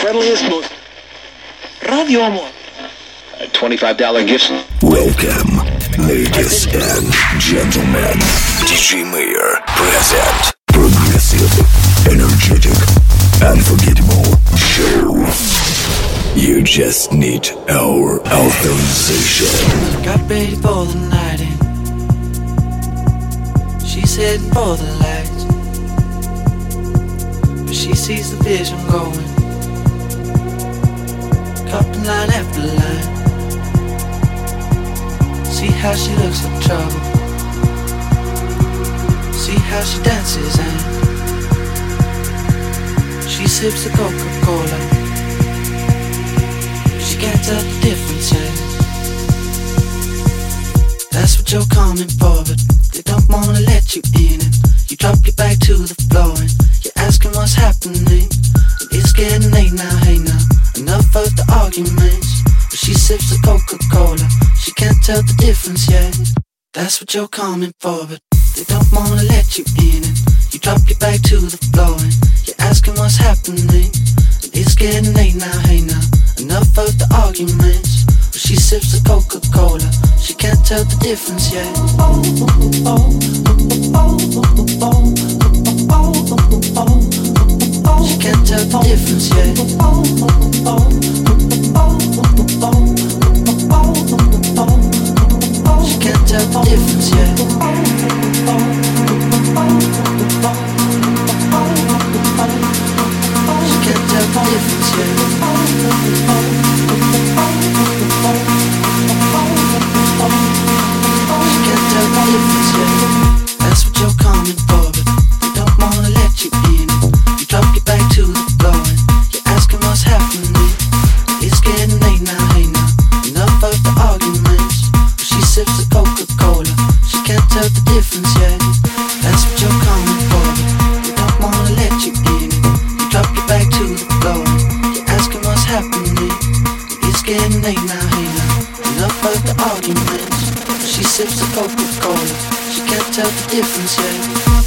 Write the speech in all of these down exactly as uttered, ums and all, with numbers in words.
friendliest, most Radio Amor. A twenty-five dollar gift. Welcome, ladies and gentlemen. ди джей Mayor present progressive, energetic, unforgettable show. You just need our authorization. Got ready for the night in. She's heading for the lights, but she sees the vision going, cupping line after line. See how she looks like trouble, see how she dances and she sips the Coca-Cola. She can't tell the difference yet. That's what you're coming for, but they don't wanna let you in. And you drop your back to the floor and you're asking what's happening. And it's getting late now, hey now, enough of the arguments. But she sips the Coca-Cola, she can't tell the difference yet. That's what you're coming for, but they don't wanna let you in. And you drop your back to the floor and you're asking what's happening. And it's getting late now, hey now, enough of the arguments. But she sips the Coca-Cola, she can't tell the difference yet. She can't tell the difference yet. She can't tell the difference yet. She can't tell the difference yet. She can't tell the difference yet. That's what you're coming for, but they don't wanna let you in. You drop your back to the floor and you're asking what's happening. It's getting late now, hey now, enough of the arguments. But she sips the Coca-Cola, she can't tell the difference yet. That's what you're coming for, but they don't wanna let you in. You drop your back to the floor and you're asking what's happening. It's getting late now, hey now, enough of the arguments. But she sips the Coca-Cola, she can't tell the difference yet.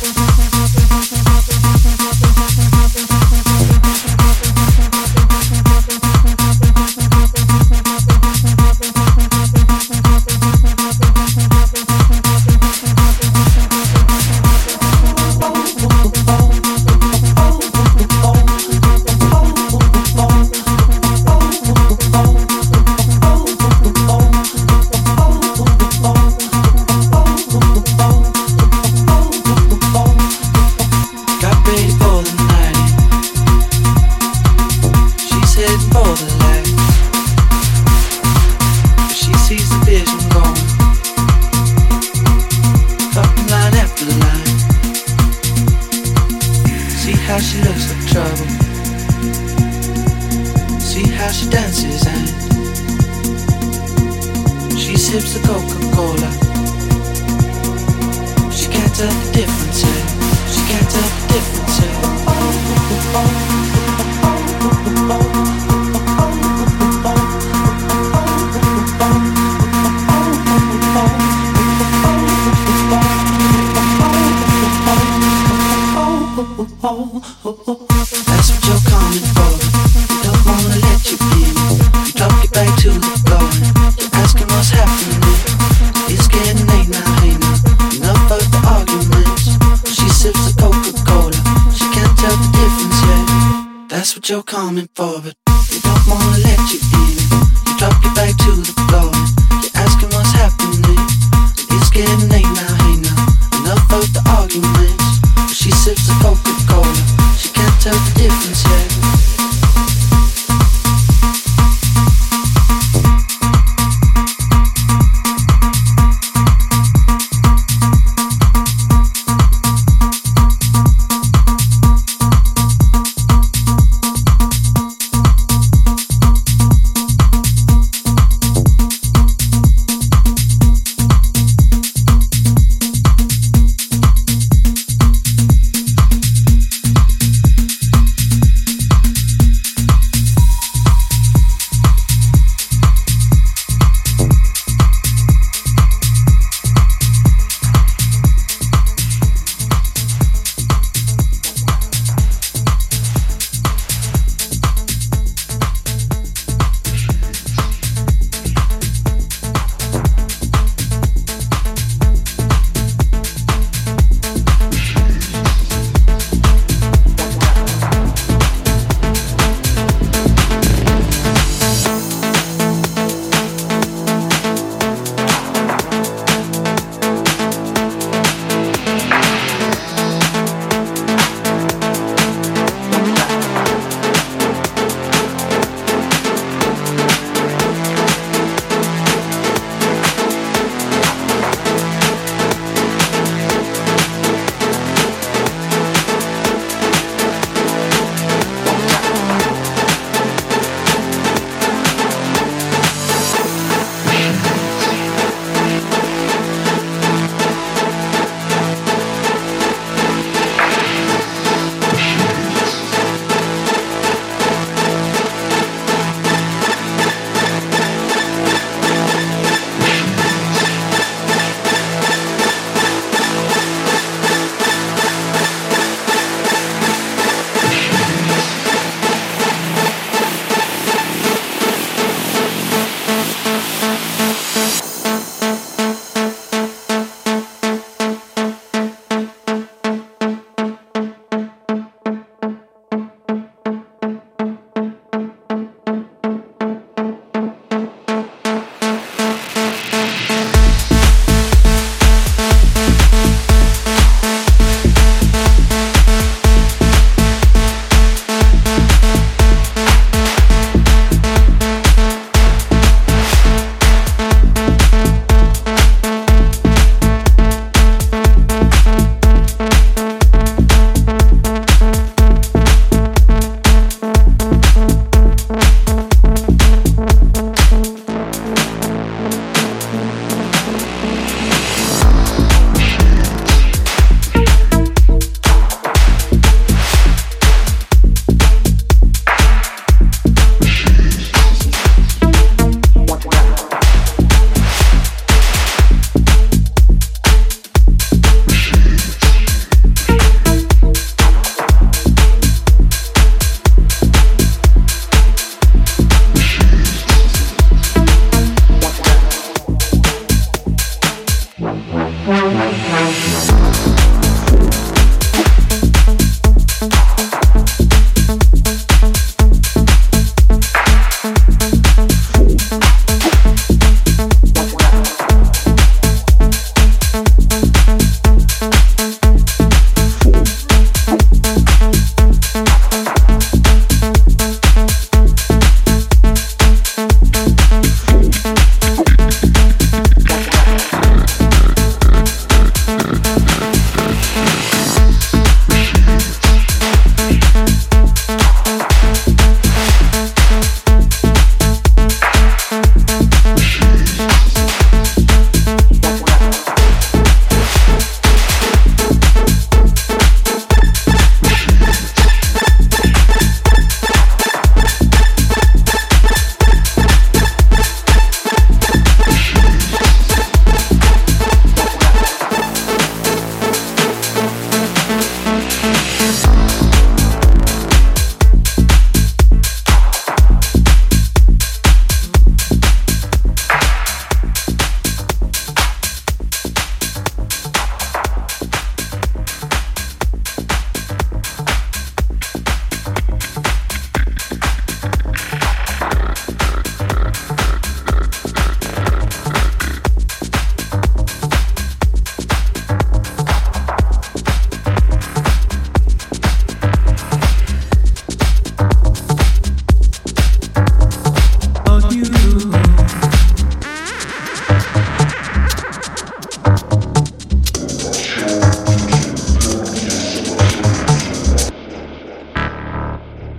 You're coming for, but they don't wanna let you in. You drop your back to the floor and you're asking what's happening. It's getting late now, hey now, enough of the arguments. But she sips the Coca-Cola, she can't tell the difference yet.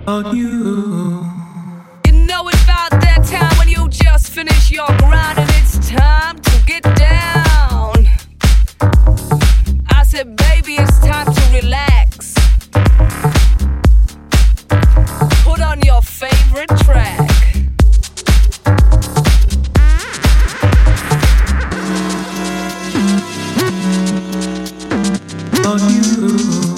on you. You know it's about that time when you just finish your grind and it's time to get down. I said, baby, it's time to relax. Put on your favorite track. On you.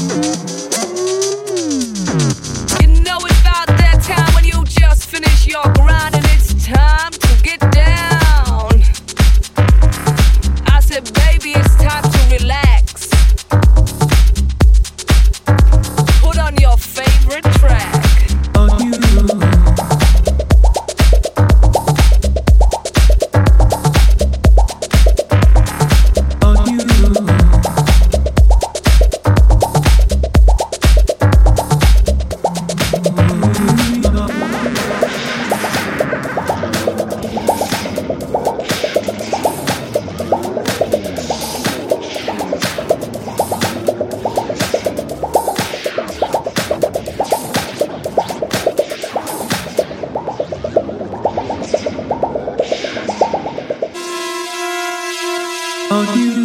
You know it's about that time when you just finish your grind and it's time to get down. I said, baby, it's time to relax. Put on your favorite track. On you. On you.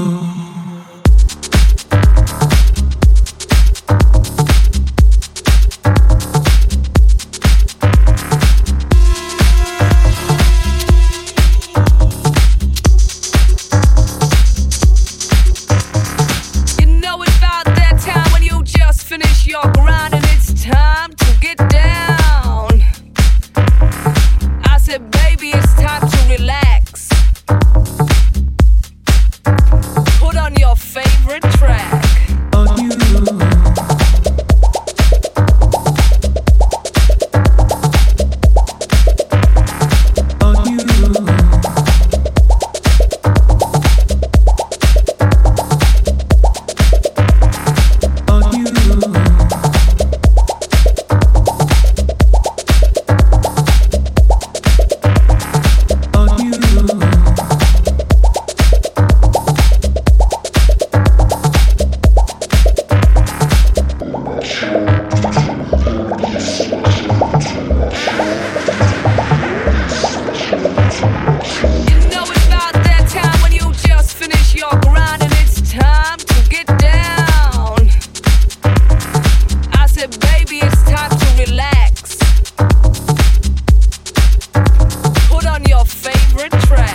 You know it's about that time when you just finish your grind and it's time to get down. I said, baby, it's time to relax. Put on your favorite track. On you. On you. On you. On you. You know it's about that time when you just finish your grind and it's time to get down. I said, baby, it's time to relax. Put on your favorite track.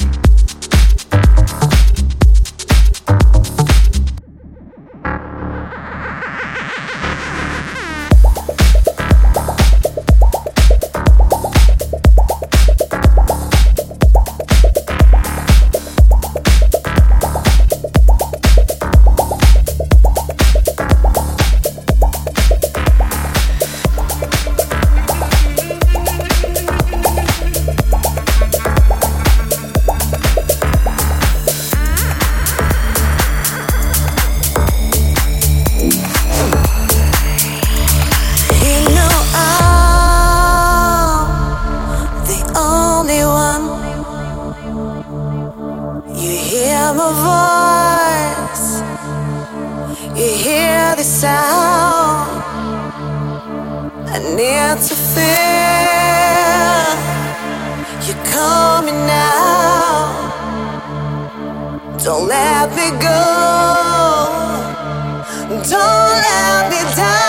You know I'm the only one. You hear my voice, you hear the sound. I need to feel you coming now. Don't let me go, don't let me down.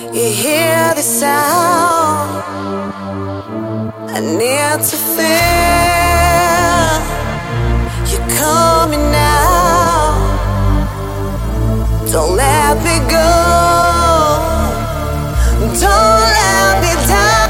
You hear the sound. I need to feel you coming now. Don't let me go. Don't let me down.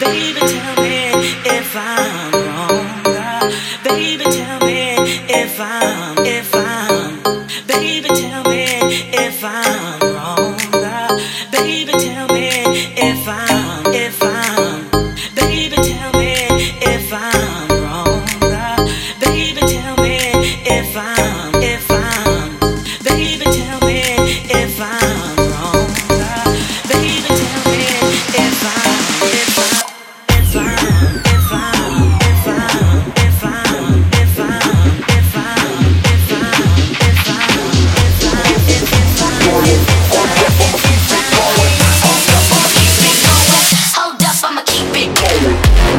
Baby, tell me if I'm wrong. Uh, baby, tell me if I'm, if I'm. Baby, tell me if I'm wrong. Uh, baby, tell me if I'm, if I'm. Baby, tell me if I'm wrong. Uh, baby, tell me if I'm, if I'm. Baby, tell me if I'm wrong. Uh, baby, tell me if I'm, if I'm. If I'm, if I'm, if I'm, if I'm, if I'm, if I'm, if I'm, if I'm, if I'm, if I'm. Hold up, I'ma keep it going.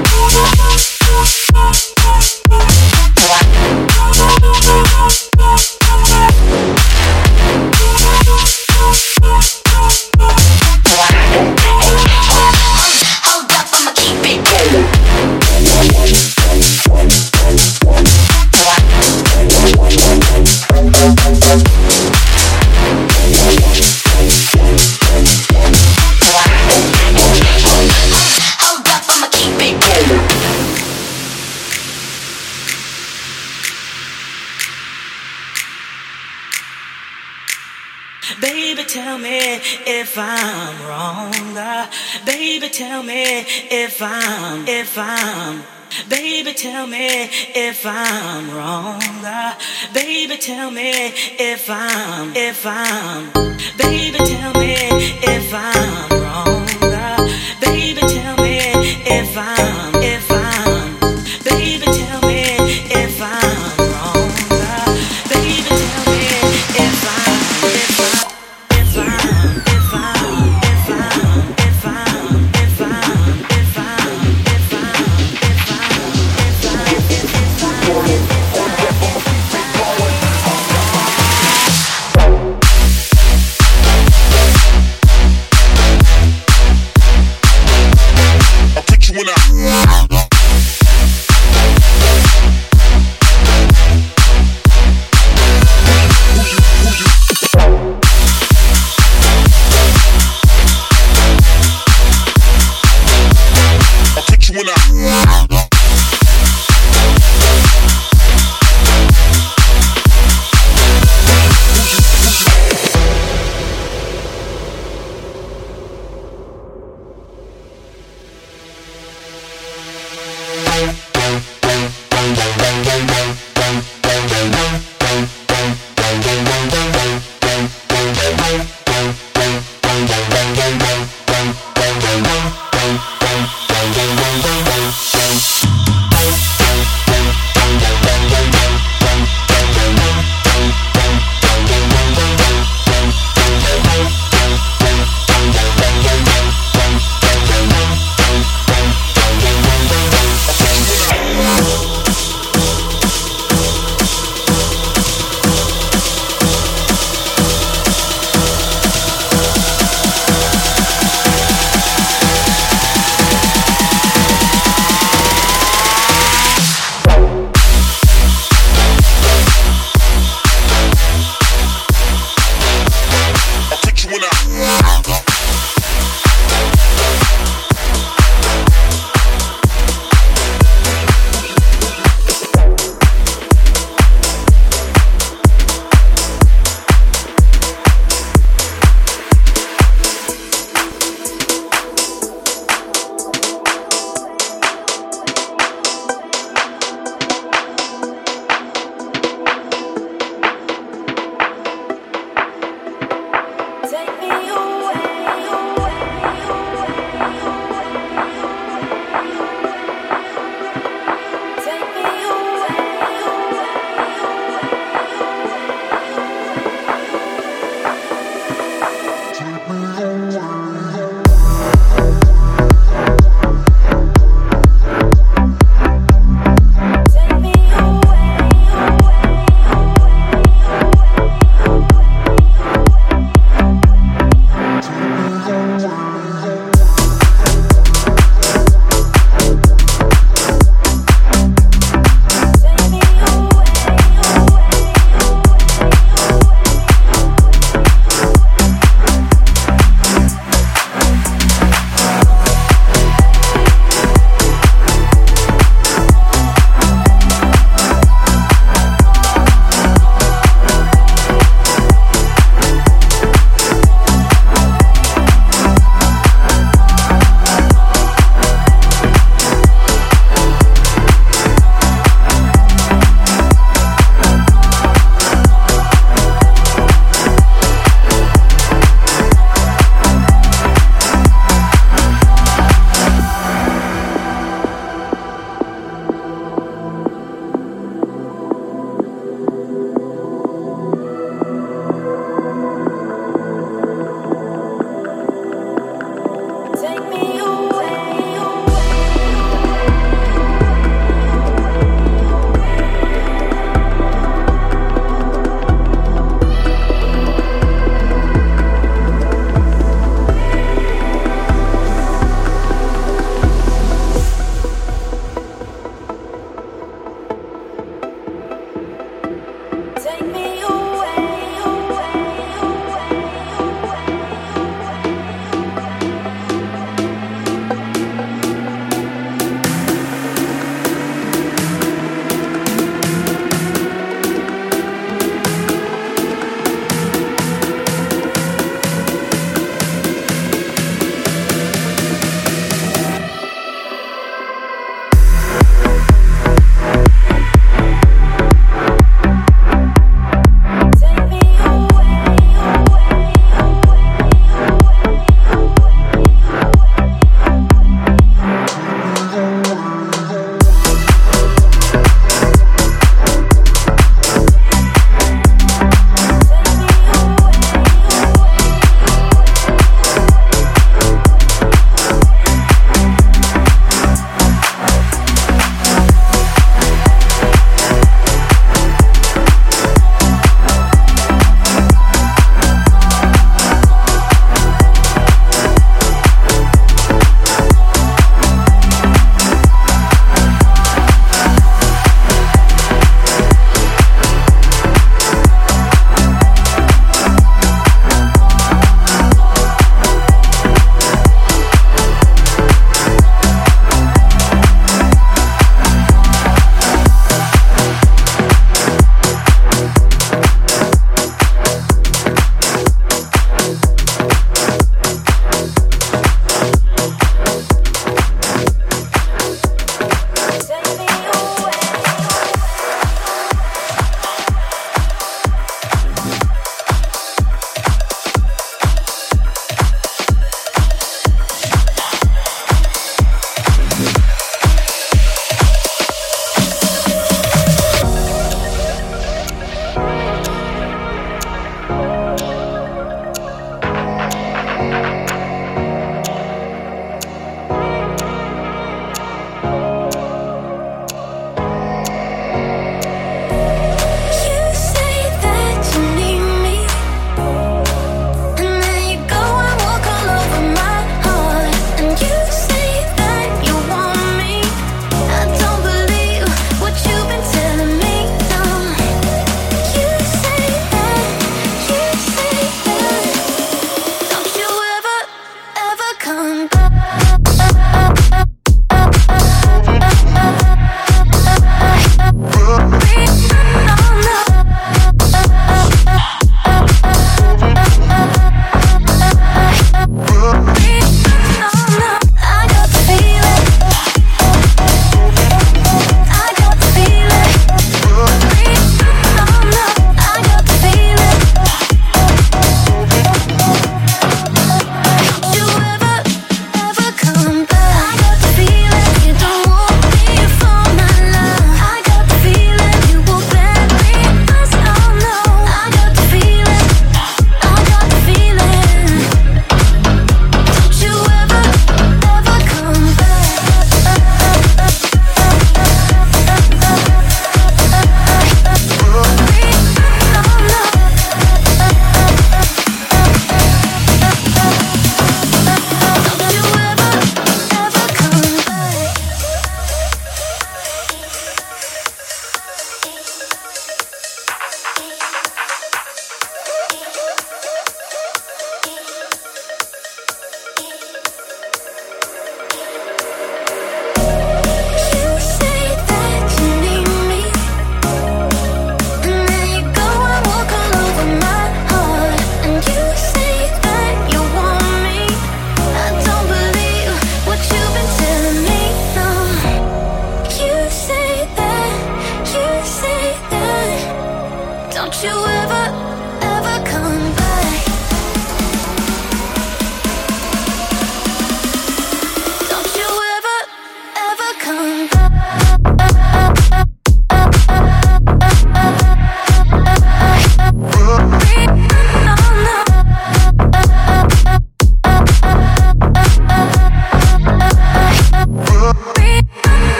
Hold up, I'ma keep it going. Hold up, I'ma keep it going. Baby, tell me if I'm wrong. Uh, baby, tell me if I'm, if I'm. Baby, tell me if I'm wrong. Uh, baby, tell me if I'm, if I'm. Baby, tell me if I'm wrong. Uh, baby, tell me if I'm, if I'm. Baby, tell me if I'm wrong. Uh, baby, tell me if I'm, if I'm. If I'm, if I'm, if I'm, if I'm, if I'm, if I'm, if I'm, if I'm, if I'm. I'll put you in a I'll put you in a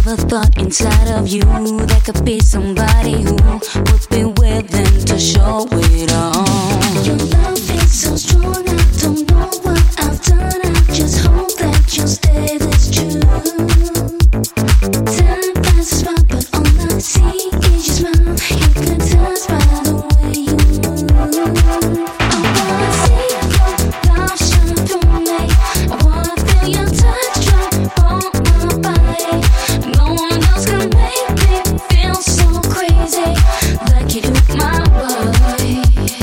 a thought inside of you. There could be somebody who would be willing to show it all. Your love is so strong, I don't know what I've done. I just hope that you'll stay this true. Time passes by, but all I see is your smile. Hypnotized by the way you move. I wanna see your love shine through me. I wanna feel your touch drop on my body. No one else can make me feel so crazy like you do my body.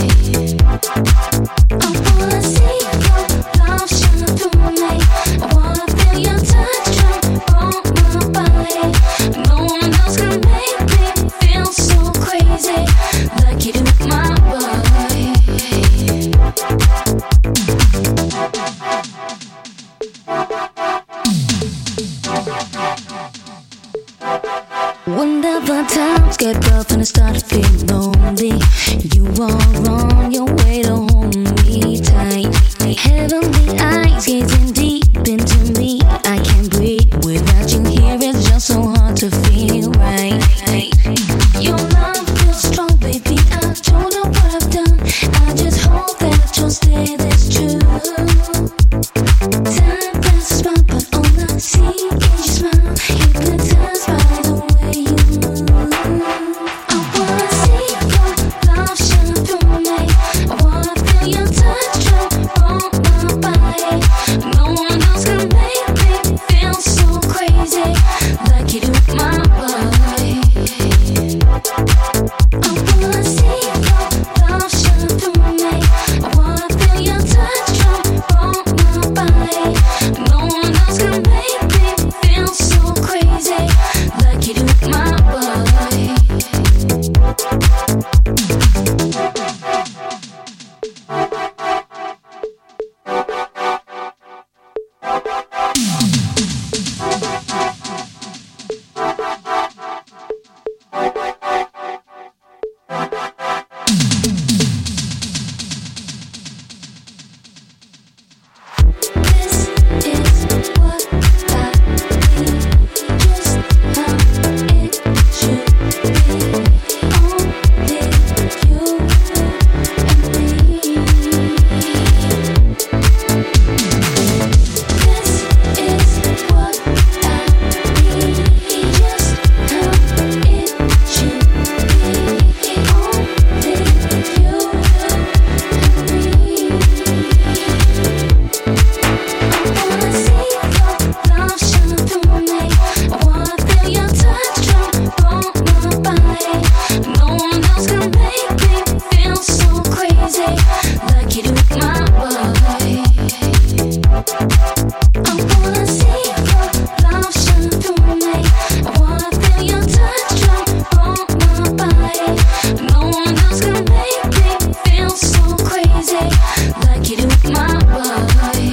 I wanna see your love shine through me. I wanna feel your touch drop on my body. No one else can make me feel so crazy like you do my body. Whenever times get rough and I start to feel lonely, you are on your way to hold me tight. Heavenly eyes gazing deep into me. I can't breathe without you here. It's just so hard to feel right. Your love feels strong, baby. I don't know what I've done. I just hope that you'll stay this true. Time passes by, but all I see is your smile. Hypnotized by the way you move. I wanna see your love shine through me. I wanna feel your touch drop on my body. No one else can make me feel so crazy like you do my body. I wanna see your love shine through me. I wanna feel your touch drop on my body. No one else can make me feel so crazy like you do my body. This is what I need, just how it should be. Only you and me. This is what I need, just how it should be. Only you and me. I wanna see your love shine through me. I wanna feel your touch drop on my body. No one else can make me feel so crazy like you do my body. I wanna see your love shine through me. I wanna feel your touch drop on my body. No one else can make me feel so crazy like you do my body.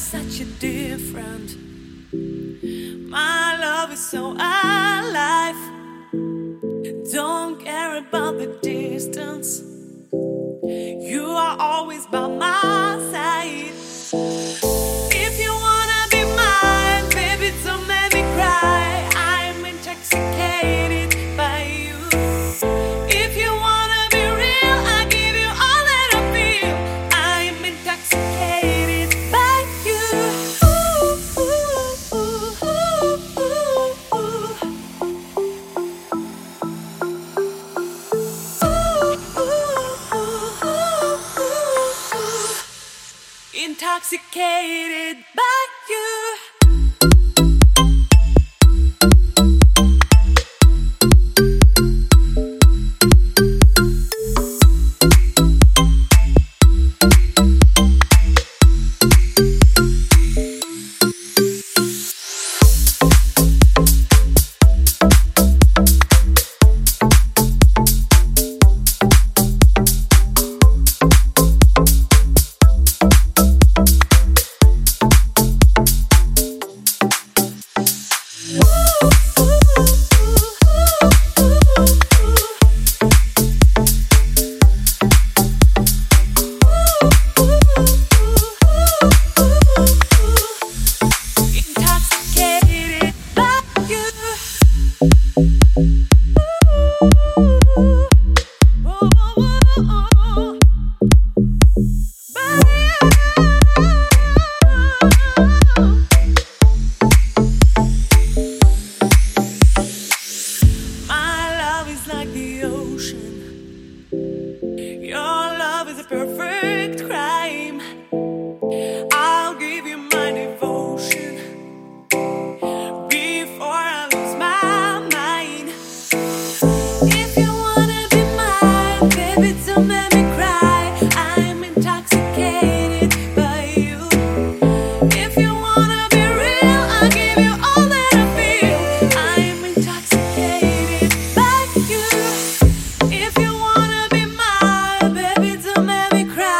such a different. My love is so alive. Don't care about the distance. You are always by my side. If you wanna be mine, baby, don't make me cry. I'm intoxicated by you. If you wanna be real, I give you all that I feel. I'm intoxicated by you. Ooh, ooh, ooh, ooh, ooh, ooh. Intoxicated by you. Intoxicated by you. Ooh, ooh, ooh, by you. My love is like the ocean. Your love is a perfect crime. I'll give you my devotion before I lose my mind. If you wanna be mine, baby, don't make me cry. I'm intoxicated by you. If you wanna be real, I'll give you all that I feel. I'm intoxicated by you. If you wanna be mine, baby, don't make me cry.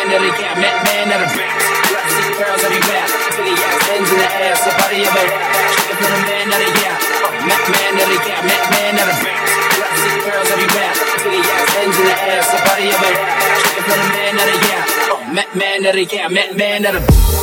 that it got, man, man that it bounce. See girls everywhere, titty ass, hands in the air, somebody over here. Shaking for the man that it got, man, man that it got, man, man that it bounce. See girls everywhere, titty ass, hands in the air, somebody over here. Shaking for the man that it got, man, man that it got, man, man that it bounce.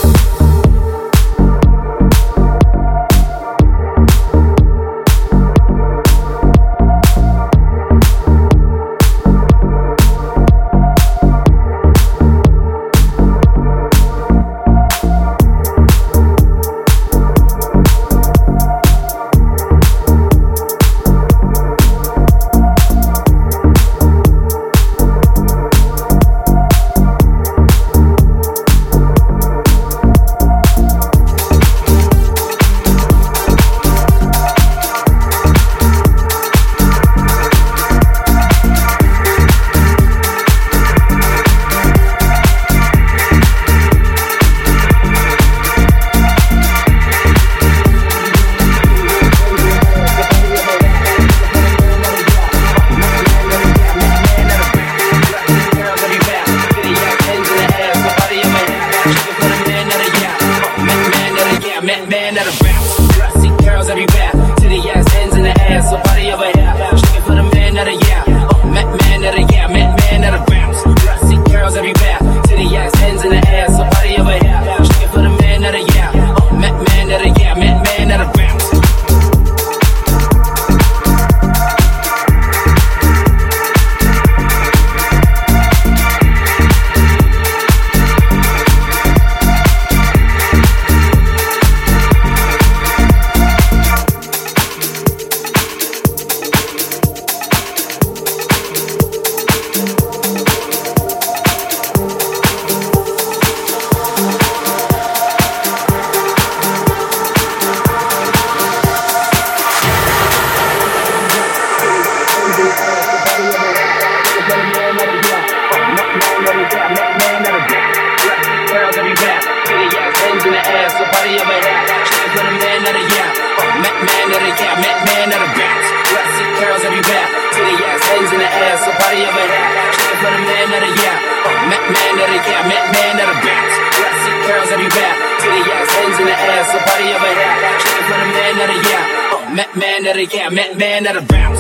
Man that'll bounce.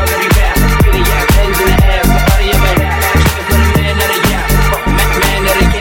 Man,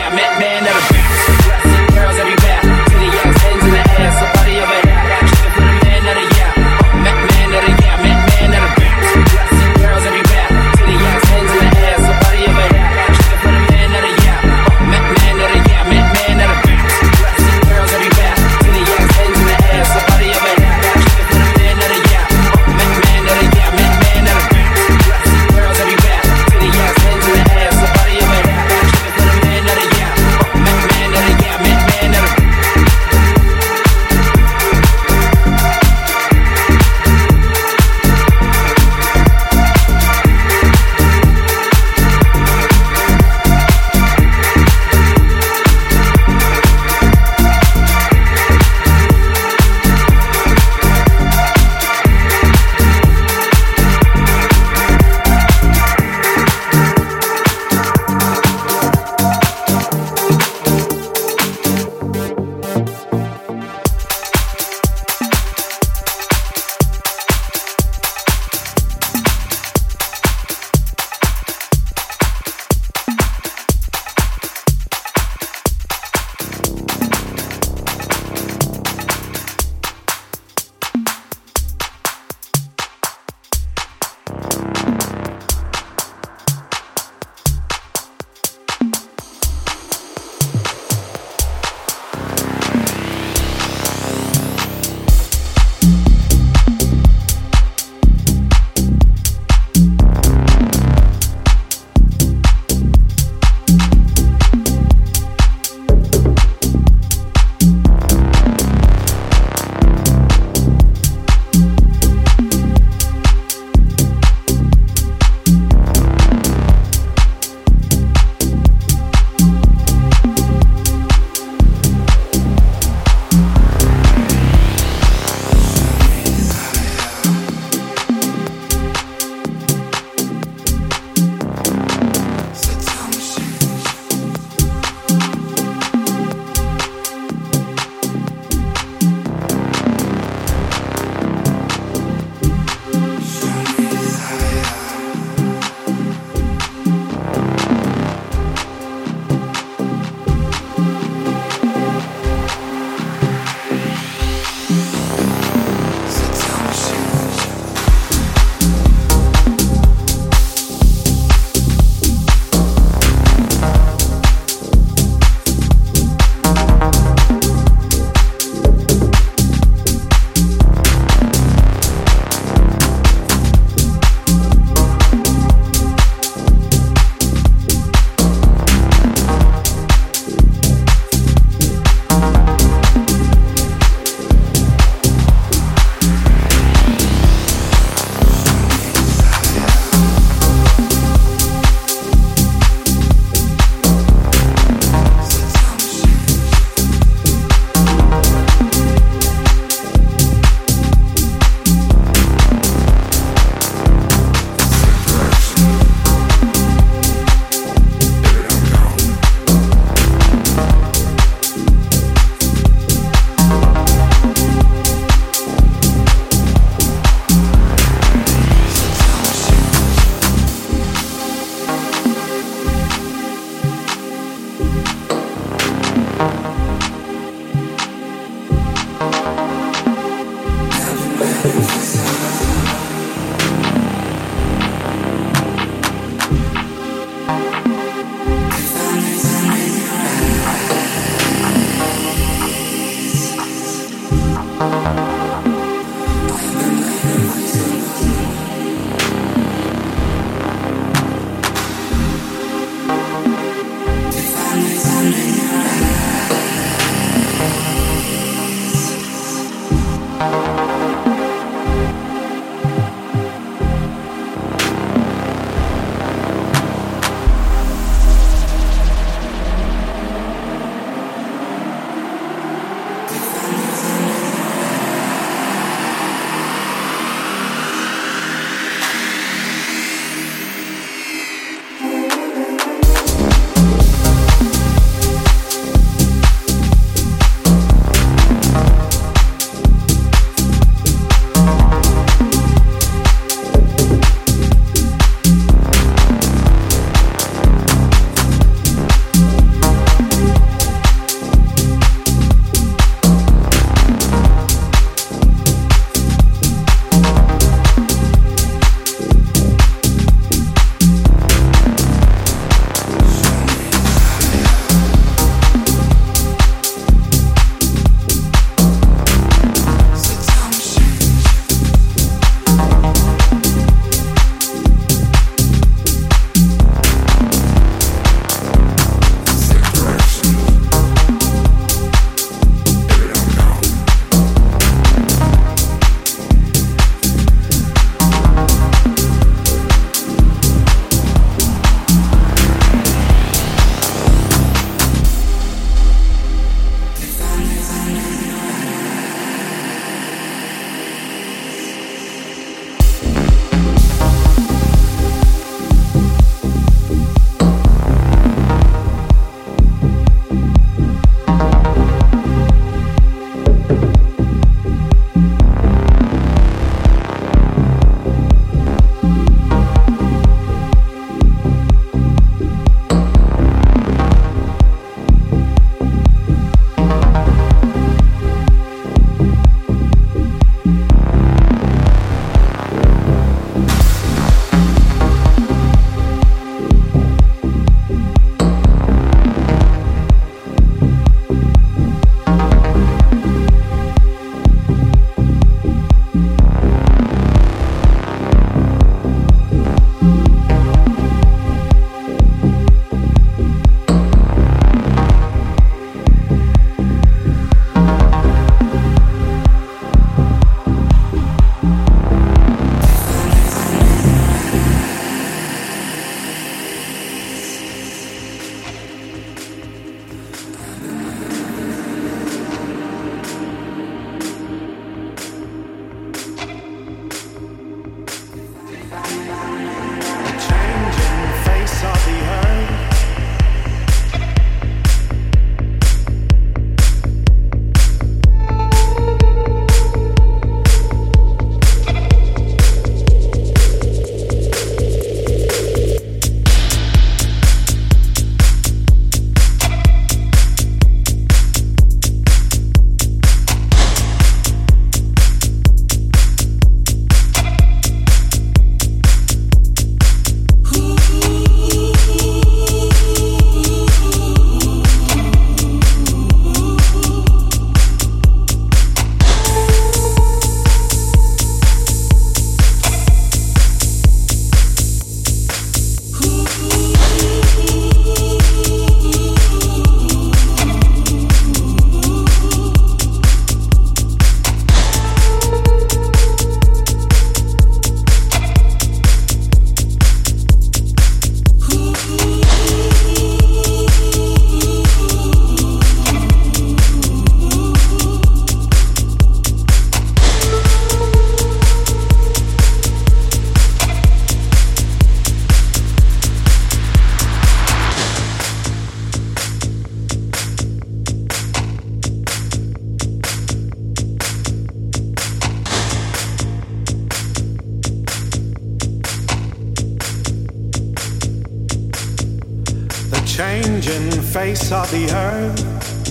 changing face of the earth,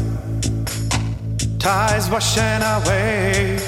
tides washing away.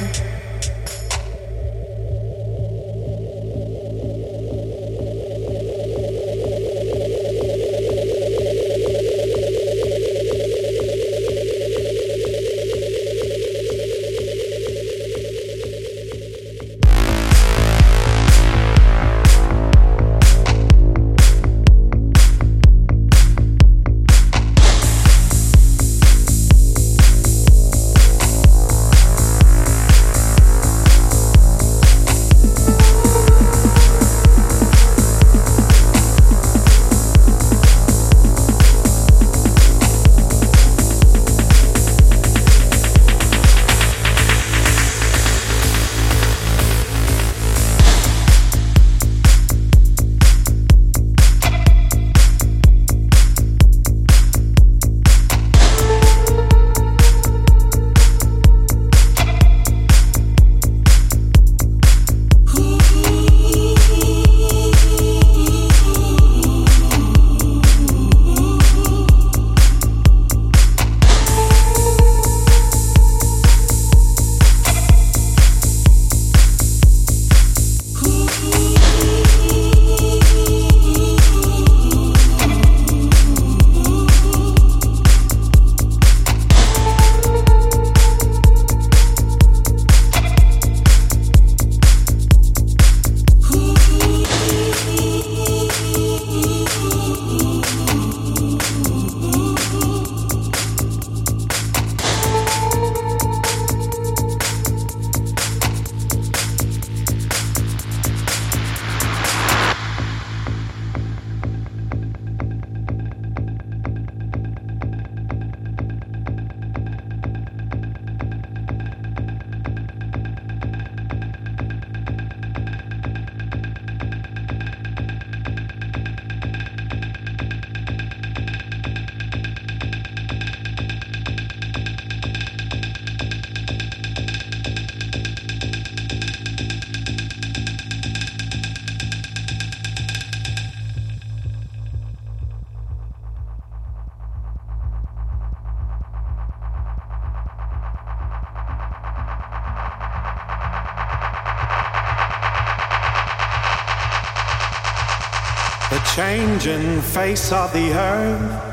Changing face of the earth,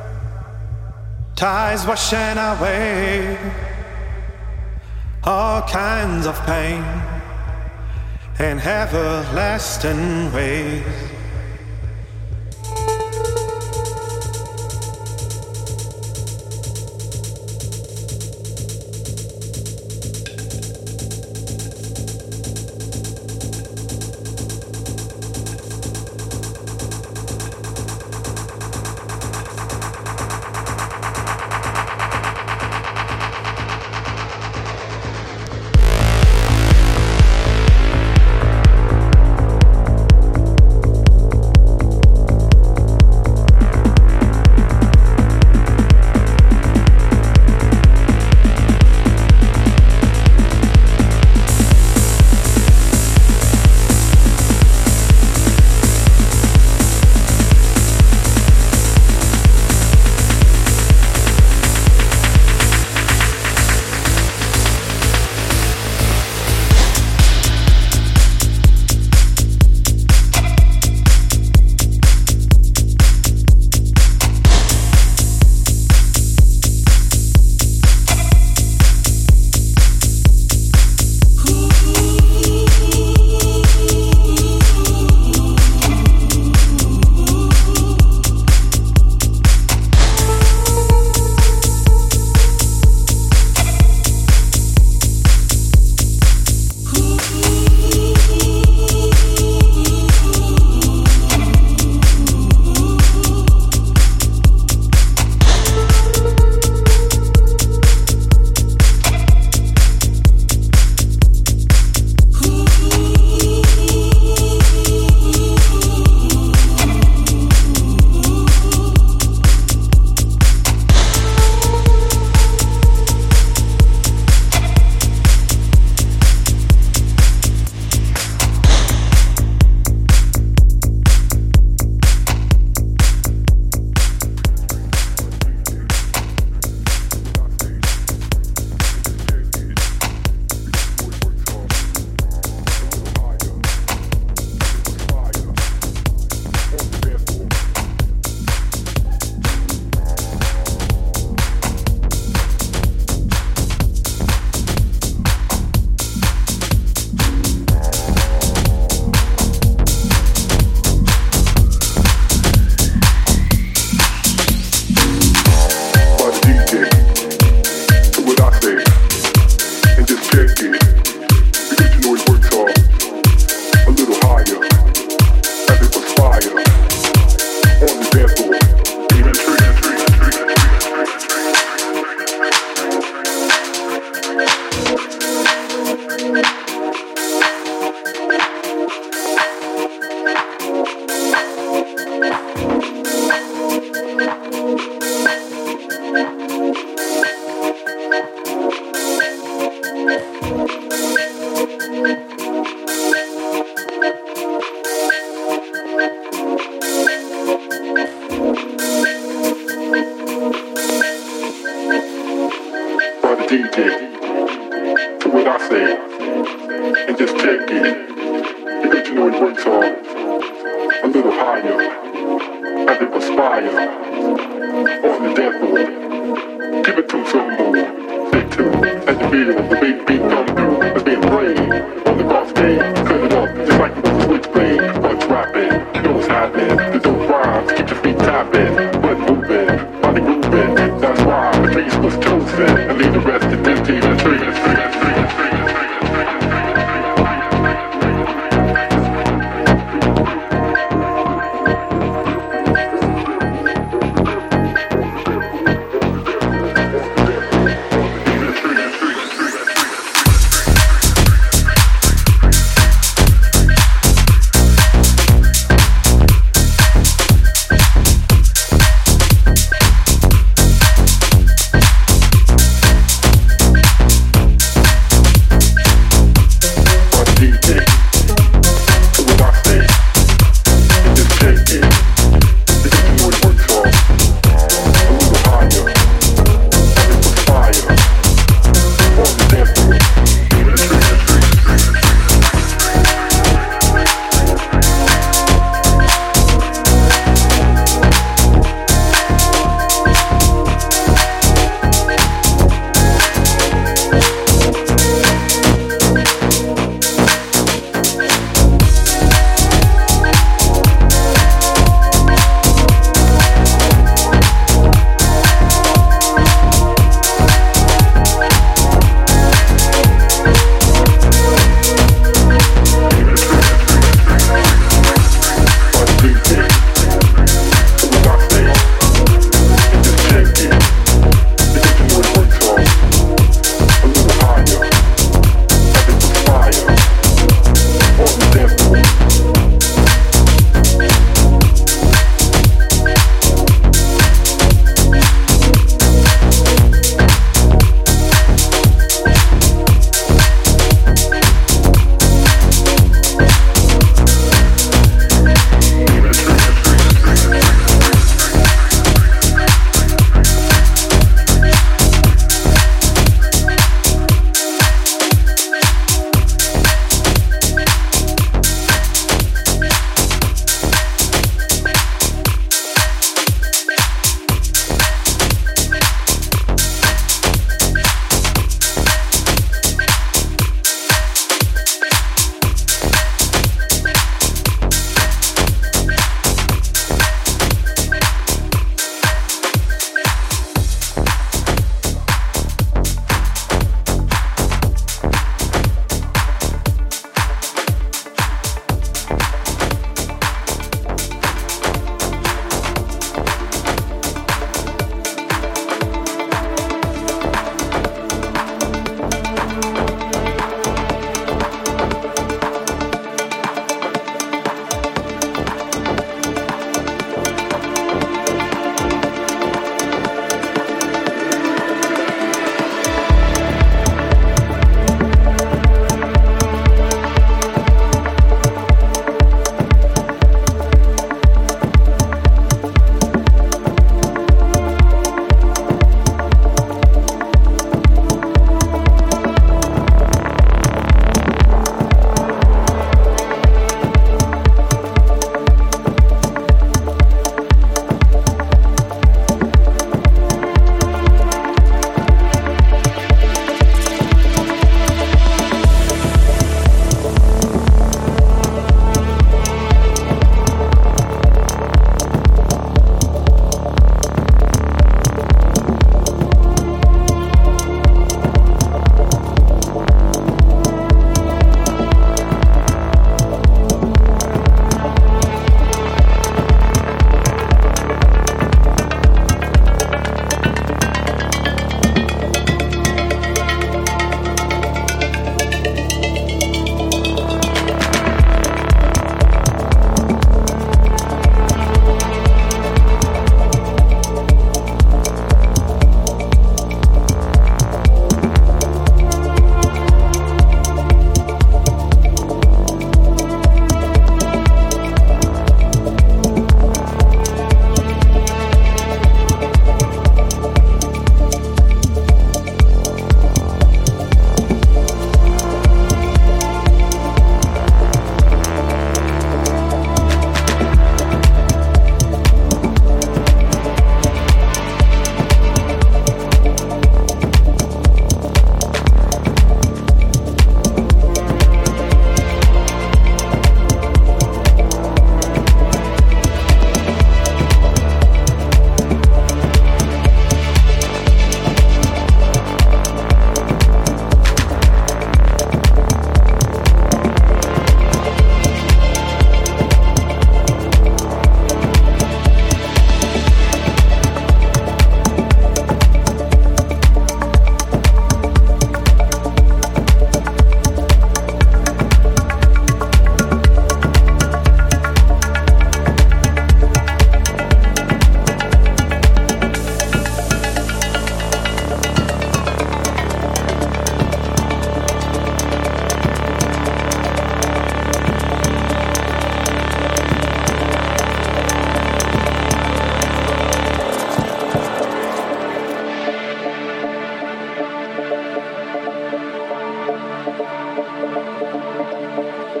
tides washing away all kinds of pain in everlasting ways. shaky. Because you know he works hard. A little higher. As it perspire. On the dance floor. Give it to him some more. Stay tuned. As you feel the bass beat come through. It's being played. On the cross stage. Cut it up. Just like the switchblade. What's rapping? You know what's happening. There's no rhymes. Keep your feet tapping. Blood moving. Body moving. That's why the place was chosen. And leave the rest to empty the tree.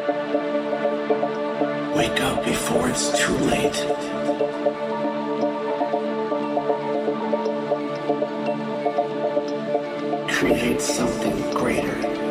Wake up before it's too late. Create something greater.